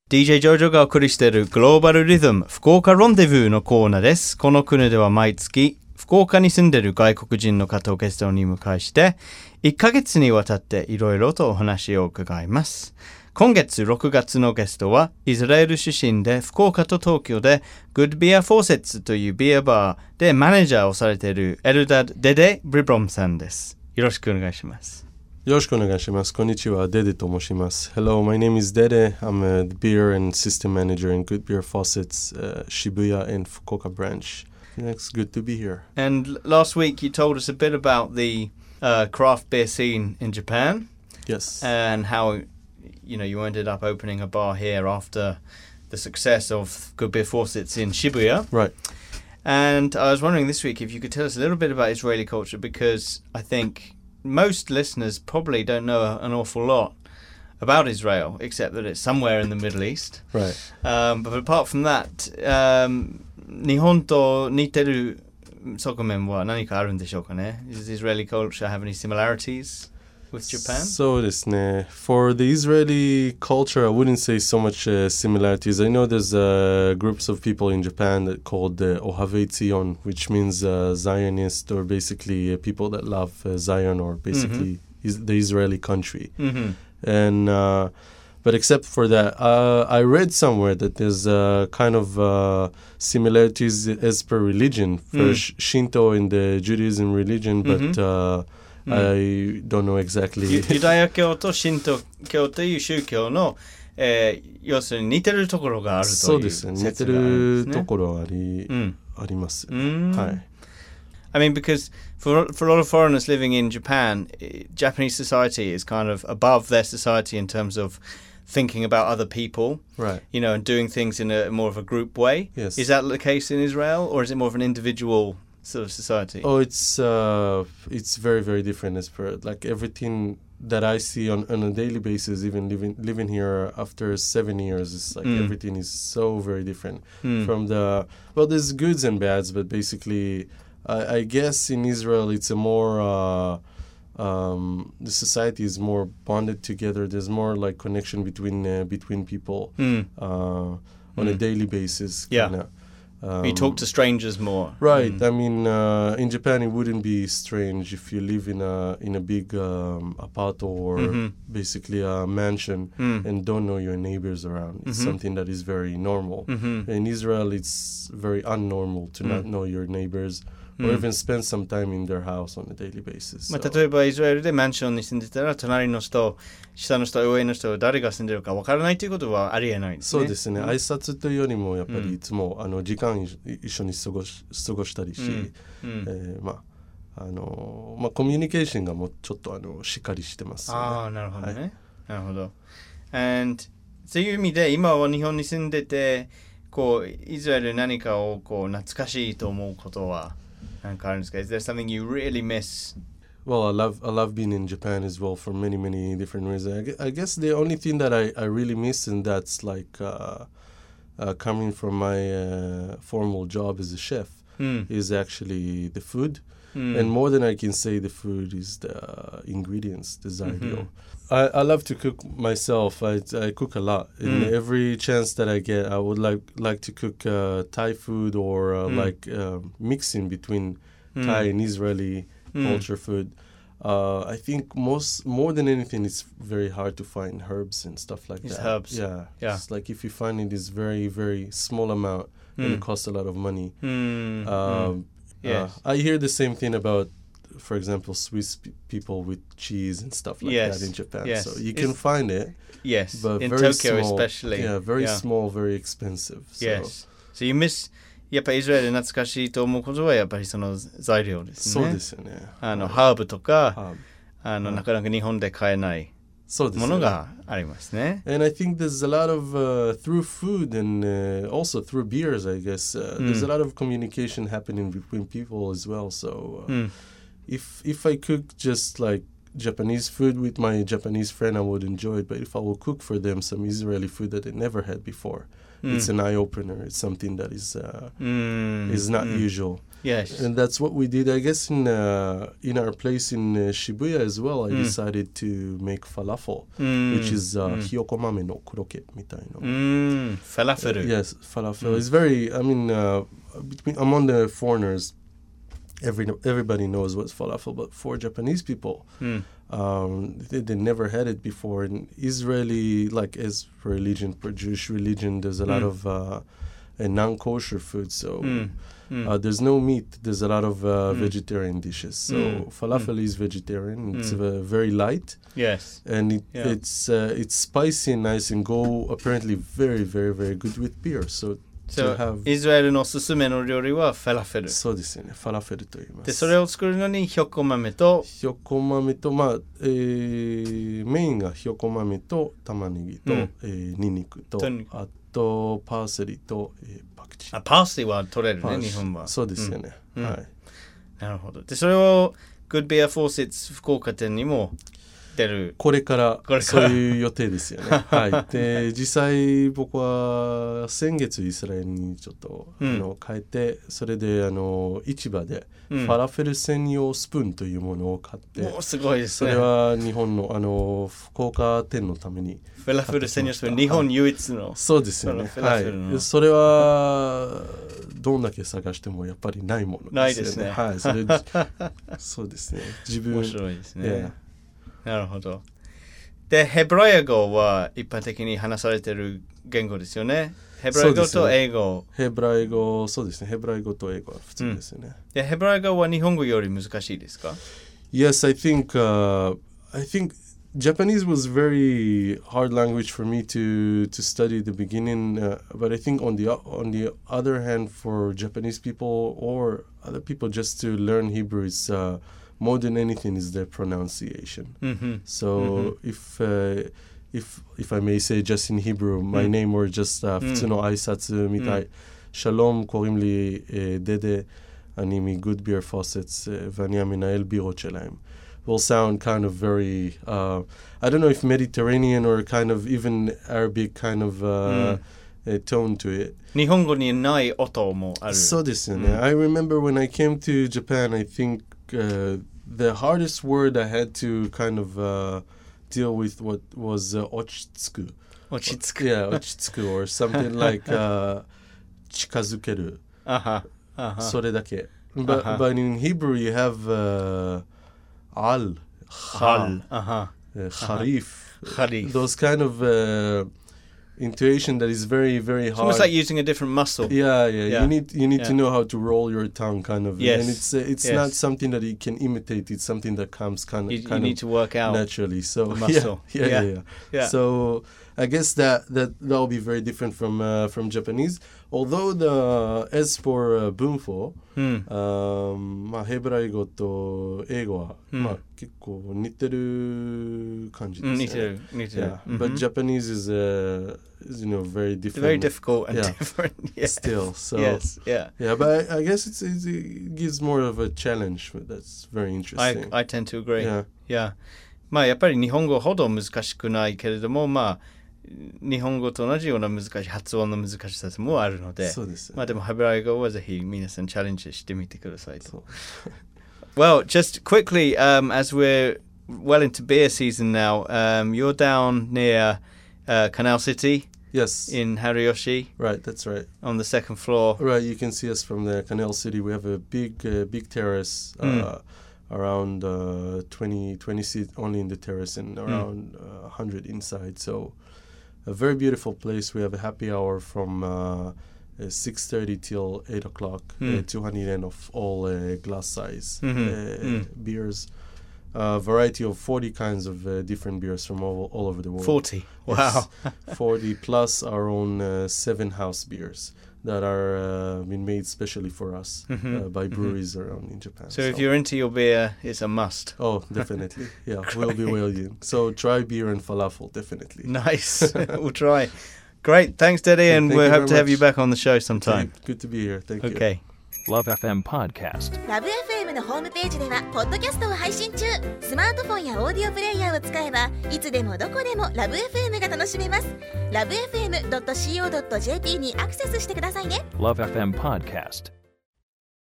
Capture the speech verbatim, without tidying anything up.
ディージェー ジョジョがお送りしているグローバルリズム福岡ロンデブーのコーナーです。この国では毎月福岡に住んでいる外国人の方をゲストに迎えしていっかげつにわたっていろいろとお話を伺います。今月ろくがつのゲストはイスラエル出身で福岡と東京で Good Beer Faucets というビアバーでマネージャーをされているエルダッド・デデ・ブリブロムさんです。よろしくお願いします。 よろしくお願いします。こんにちは、デデと申します。Hello, my name is Dede. I'm a beer and system manager in Good Beer Faucets, uh, Shibuya and Fukuoka branch. It's good to be here. And last week you told us a bit about the uh, craft beer scene in Japan. Yes. And how, you know, you ended up opening a bar here after the success of Good Beer Faucets in Shibuya. Right. And I was wondering this week if you could tell us a little bit about Israeli culture, because I think most listeners probably don't know an awful lot about Israel, except that it's somewhere in the Middle East. Right. Um, but apart from that, um, 日本と似てる側面は何かあるんでしょうかね? Does Israeli culture have any similarities with Japan? そうですね. For the Israeli culture, I wouldn't say so much uh, similarities. I know there's uh, groups of people in Japan that called uh, Ohavei Tzion, which means uh, Zionist, or basically uh, people that love uh, Zion, or basically mm-hmm. is the Israeli country. Mm-hmm. And uh, but except for that, uh, I read somewhere that there's uh, kind of uh, similarities as per religion for mm. sh- Shinto in the Judaism religion, but mm-hmm. uh, mm. I don't know exactly. ユダヤ教と神道教という宗教の、えー、要するに似てるところがあるというそうですね。似てるところあり、 うん、 あります。 うんはい。 I mean, because for for a lot of foreigners living in Japan, Japanese society is kind of above their society in terms of thinking about other people, right? You know, and doing things in a more of a group way. Yes. Is that the case in Israel, or is it more of an individual sort of society? Oh, it's uh, it's very very different as per like everything that I see on, on a daily basis. Even living living here after seven years, it's like mm. everything is so very different mm. from the well. There's goods and bads, but basically, I, I guess in Israel it's a more. Uh, Um, the society is more bonded together. There's more like connection between uh, between people mm. uh, on mm. a daily basis. Yeah, kinda. Um, you talk to strangers more. Right. Mm. I mean, uh, in Japan, it wouldn't be strange if you live in a in a big um, apartment or mm-hmm. basically a mansion mm. and don't know your neighbors around. It's mm-hmm. something that is very normal. Mm-hmm. In Israel, it's very unnormal to mm. not know your neighbors.Or even spend some time in their house on a daily basis. まあ、例えばイスラエルでマンションに住んでたら隣の人、下の人、上の人、誰が住んでるか分からないということはありえないですね。 そうですね。挨拶というよりもやっぱりいつも、うん、あの時間一緒に過ごし、過ごしたりし、うんうんえー、まああのまあコミュニケーションがもうちょっとあのしっかりしてますよね。 ああ、なるほどね。はい、なるほど。And そういう意味で今は日本に住んでて、こうイスラエル何かをこう懐かしいと思うことは。Is there something you really miss? Well, I love I love being in Japan as well for many many different reasons. I guess the only thing that I, I really miss, and that's like uh, uh, coming from my uh, formal job as a chef, mm. is actually the food. Mm. And more than I can say, the food is the uh, ingredients, the zario. Mm-hmm. I, I love to cook myself. I, I cook a lot. Mm. And every chance that I get, I would like like to cook uh, Thai food or uh, mm. like uh, mixing between mm. Thai and Israeli mm. culture food. Uh, I think most more than anything, it's very hard to find herbs and stuff like it's that. Herbs. Yeah, yeah. It's like if you find it is very very small amount mm. and it costs a lot of money. Mm. Um, mm. Yes. Uh, I hear the same thing about, for example, Swiss p- people with cheese and stuff like yes. that in Japan. Yes. So you can it's, find it. Yes. But in very Tokyo small, especially. Yeah, very yeah. small, very expensive. So. Yes. So you miss, やっぱりイスラエルで懐かしいと思うことはやっぱりその材料ですね。 そうですよね。 あの、ハーブとか、 ハーブあの、なかなか日本で買えないものがありますね。 And I think there's a lot of, uh, through food and uh, also through beers, I guess, uh, mm. there's a lot of communication happening between people as well. So uh, mm. if if I cook just like Japanese food with my Japanese friend, I would enjoy it. But if I will cook for them some Israeli food that they never had before, mm. it's an eye opener. It's something that is uh, mm. is not mm. usual. Yes, and that's what we did. I guess in uh, in our place in uh, Shibuya as well. I mm. decided to make falafel, mm. which is uh, mm. hiyokomame no kuroke みたいな. Mm. Falafel. Uh, yes, falafel. Mm. It's very. I mean, uh, between among the foreigners, every everybody knows what's falafel, but for Japanese people, mm. um, they, they never had it before. In Israeli, like as for religion, for Jewish religion, there's a mm. lot of uh, non-kosher food. So. Mm. Mm. Uh, there's no meat. There's a lot of uh, mm. vegetarian dishes. So mm. falafel mm. is vegetarian. It's mm. uh, very light. Yes. And it, yeah. it's uh, it's spicy and nice and go apparently very, very, very good with beer. So, so to have イスラエルのおすすめの料理はファラフェル。 そうですよね。ファラフェルと言います。 で、それを作るのにひよこ豆とひよこ豆と、まあ、えー、メインがひよこ豆と玉ねぎと、うんえー、ニンニクと、あとパーセリと、えーあパースリーは取れるね日本はそうですよね、うん、はいなるほどでそれを Good Beer Faucets 福岡店にも出るこれからそういう予定ですよねはいで実際僕は先月イスラエルにちょっと、うん、あの帰ってそれであの市場でファラフェル専用スプーンというものを買って、 うん、おすごいですねそれは日本のあの福岡店のためにファラフェル専用スプーン日本唯一のそうですよねはいそれはどんだけ探してもやっぱりないものですよねないですねはいそれそうですね自分面白いですね、yeahなるほど。で、ヘブライ語は一般的に話されている言語ですよね。ヘブライ語と英語。 ね、ヘブライ語、そうですね。ヘブライ語と英語は普通ですよね。 うん、で、ヘブライ語は日本語より難しいですか Yes, I think, uh, I think Japanese was very hard language for me to, to study at the beginning, uh, but I think on the, on the other hand, for Japanese people or other people just to learn Hebrew is uh, more than anything is the pronunciation. Mm-hmm. So mm-hmm. if uh, if if I may say just in Hebrew, my mm. name were just uh, 普通の挨拶みたい. שלום, קוראים לי דדה, אני מ-Good Beer Faucets, ואני המנהל בירות שלהם. Will sound kind of very, uh, I don't know if Mediterranean or kind of even Arabic kind of uh, mm. uh, tone to it. 日本語にない音もある。 そうですよね。I remember when I came to Japan, I think Uh, the hardest word I had to kind of uh, deal with what was uh, ochitsuku. Ochitsuku. Yeah, ochitsuku or something like uh, chikazukeru. Uh-huh. Uh-huh. それだけ. But, uh-huh. but in Hebrew you have uh, al, khal, uh-huh. uh, kharif. Kharif. Those kind of uh, intuition that is very, very hard. It's almost like using a different muscle. Yeah, yeah. yeah. You need you need yeah. to know how to roll your tongue, kind of. Yes. And it's uh, it's yes. not something that you can imitate. It's something that comes kind of you, kind you of need to work out naturally. So the muscle. Yeah, yeah, yeah. yeah, yeah. yeah. So I guess that that that will be very different from uh, from Japanese. Although the as for uh, bunfo, hmm. um, まあヘブライ語と英語は、hmm. まあ結構似てる感じですね。似てる、似てる。Yeah. Mm-hmm. But Japanese is uh, is you know very different. Very difficult and yeah. different. Yes. Still, so yes, yeah, yeah. But I, I guess it's, it's, it gives more of a challenge. That's very interesting. I I tend to agree. Yeah, yeah. まあやっぱり日本語ほど難しくないけれども、まあ日本語と同じような難しい発音の難しさもあるので、 そうです。 まあでもヘブライ語はぜひ皆さんチャレンジしてみてくださいと。Well, just quickly, um, as we're well into beer season now, um, you're down near uh, Canal City. Yes. In Hariyoshi. Right, that's right. On the second floor. Right, you can see us from the Canal City. We have a big, uh, big terrace, uh, mm. around uh, twenty, twenty seats only in the terrace and around mm. uh, one hundred inside. So a very beautiful place. We have a happy hour from uh, uh, six thirty till eight o'clock. Mm. Uh, two hundred yen of all uh, glass size mm-hmm. uh, mm. beers. A uh, variety of forty kinds of uh, different beers from all, all over the world. forty? Wow. Yes, forty plus our own uh, seven house beers that are uh, been made specially for us mm-hmm. uh, by breweries mm-hmm. around in Japan. So, so if you're into your beer, it's a must. Oh, definitely. Yeah, we'll be waiting. So try beer and falafel, definitely. Nice. We'll try. Great. Thanks, Daddy, and we we'll hope to much. have you back on the show sometime. Okay. Good to be here. Thank okay. you. ラブエフエム Podcast。 ラブ エフエム のホームページではポッドキャストを配信中。スマートフォンやオーディオプレイヤーを使えばいつでもどこでもラブ エフエム が楽しめます。ラブエフエムドットシーオードットジェーピー にアクセスしてくださいね。 ラブエフエム Podcast。